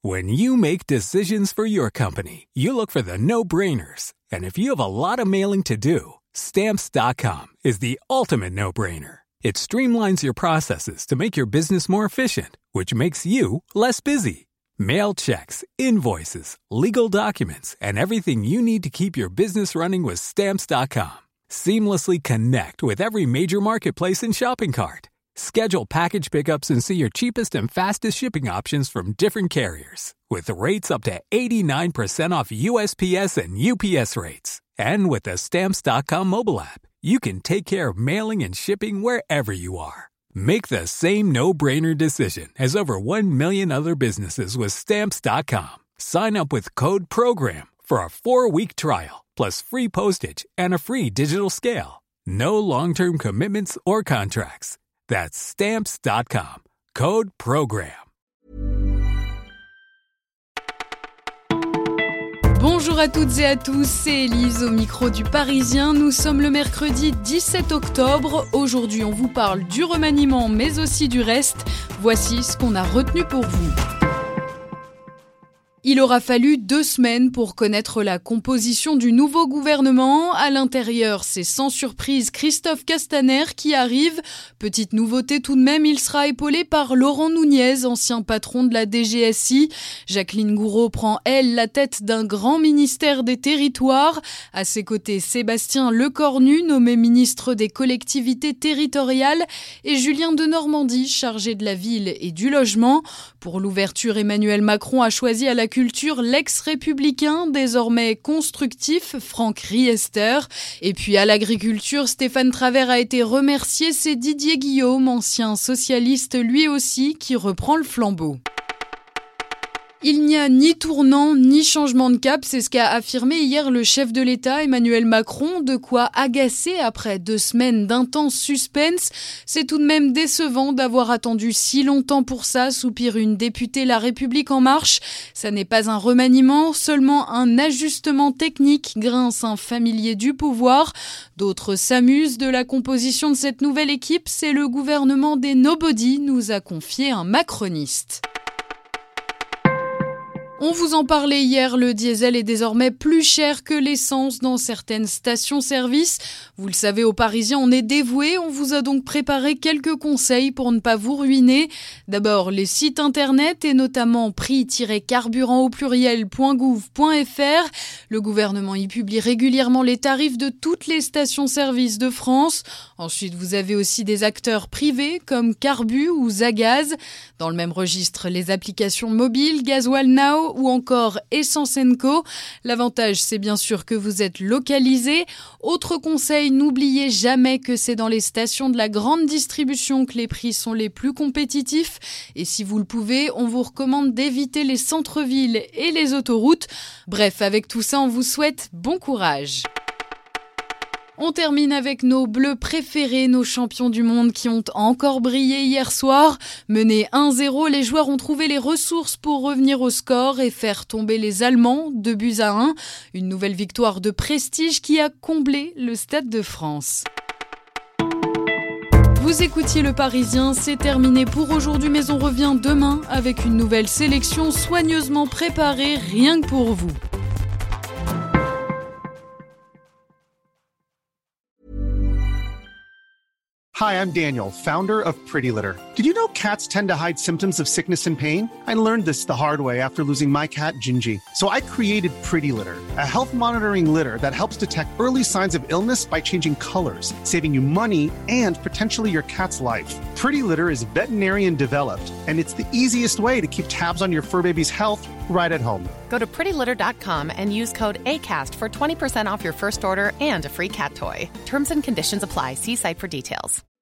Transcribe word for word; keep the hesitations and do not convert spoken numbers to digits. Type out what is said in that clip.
When you make decisions for your company, you look for the no-brainers. And if you have a lot of mailing to do, Stamps dot com is the ultimate no-brainer. It streamlines your processes to make your business more efficient, which makes you less busy. Mail checks, invoices, legal documents, and everything you need to keep your business running with Stamps dot com. Seamlessly connect with every major marketplace and shopping cart. Schedule package pickups and see your cheapest and fastest shipping options from different carriers. With rates up to eighty-nine percent off U S P S and U P S rates. And with the Stamps dot com mobile app, you can take care of mailing and shipping wherever you are. Make the same no-brainer decision as over one million other businesses with Stamps dot com. Sign up with code PROGRAM for a four-week trial, plus free postage and a free digital scale. No long-term commitments or contracts. That's Stamps dot com. Code PROGRAM. Bonjour à toutes et à tous, c'est Élise au micro du Parisien. Nous sommes le mercredi dix-sept octobre. Aujourd'hui, on vous parle du remaniement, mais aussi du reste. Voici ce qu'on a retenu pour vous. Il aura fallu deux semaines pour connaître la composition du nouveau gouvernement. À l'intérieur, c'est sans surprise Christophe Castaner qui arrive. Petite nouveauté tout de même, il sera épaulé par Laurent Nunez, ancien patron de la D G S I. Jacqueline Gouraud prend, elle, la tête d'un grand ministère des Territoires. À ses côtés, Sébastien Lecornu, nommé ministre des collectivités territoriales, et Julien Denormandie, chargé de la ville et du logement. Pour l'ouverture, Emmanuel Macron a choisi à la culture l'ex-républicain, désormais constructif, Franck Riester. Et puis à l'agriculture, Stéphane Travert a été remercié, c'est Didier Guillaume, ancien socialiste lui aussi, qui reprend le flambeau. Il n'y a ni tournant, ni changement de cap, c'est ce qu'a affirmé hier le chef de l'État, Emmanuel Macron, de quoi agacer après deux semaines d'intense suspense. C'est tout de même décevant d'avoir attendu si longtemps pour ça, soupire une députée La République En Marche. Ça n'est pas un remaniement, seulement un ajustement technique, grince un familier du pouvoir. D'autres s'amusent de la composition de cette nouvelle équipe, c'est le gouvernement des nobody, nous a confié un macroniste. On vous en parlait hier, le diesel est désormais plus cher que l'essence dans certaines stations-service. Vous le savez, aux Parisiens, on est dévoués. On vous a donc préparé quelques conseils pour ne pas vous ruiner. D'abord, les sites internet et notamment prix-carburant au pluriel point gouv point fr. Le gouvernement y publie régulièrement les tarifs de toutes les stations-service de France. Ensuite, vous avez aussi des acteurs privés comme Carbu ou Zagaz. Dans le même registre, les applications mobiles, Gasoil Now ou encore Essence and Co. L'avantage, c'est bien sûr que vous êtes localisé. Autre conseil, n'oubliez jamais que c'est dans les stations de la grande distribution que les prix sont les plus compétitifs. Et si vous le pouvez, on vous recommande d'éviter les centres-villes et les autoroutes. Bref, avec tout ça, on vous souhaite bon courage. On termine avec nos bleus préférés, nos champions du monde qui ont encore brillé hier soir. Menés un zéro, les joueurs ont trouvé les ressources pour revenir au score et faire tomber les Allemands, deux buts à un. Une nouvelle victoire de prestige qui a comblé le Stade de France. Vous écoutiez Le Parisien, c'est terminé pour aujourd'hui, mais on revient demain avec une nouvelle sélection soigneusement préparée rien que pour vous. Hi, I'm Daniel, founder of Pretty Litter. Did you know cats tend to hide symptoms of sickness and pain? I learned this the hard way after losing my cat, Gingy. So I created Pretty Litter, a health monitoring litter that helps detect early signs of illness by changing colors, saving you money and potentially your cat's life. Pretty Litter is veterinarian developed, and it's the easiest way to keep tabs on your fur baby's health right at home. Go to pretty litter dot com and use code ACAST for twenty percent off your first order and a free cat toy. Terms and conditions apply. See site for details.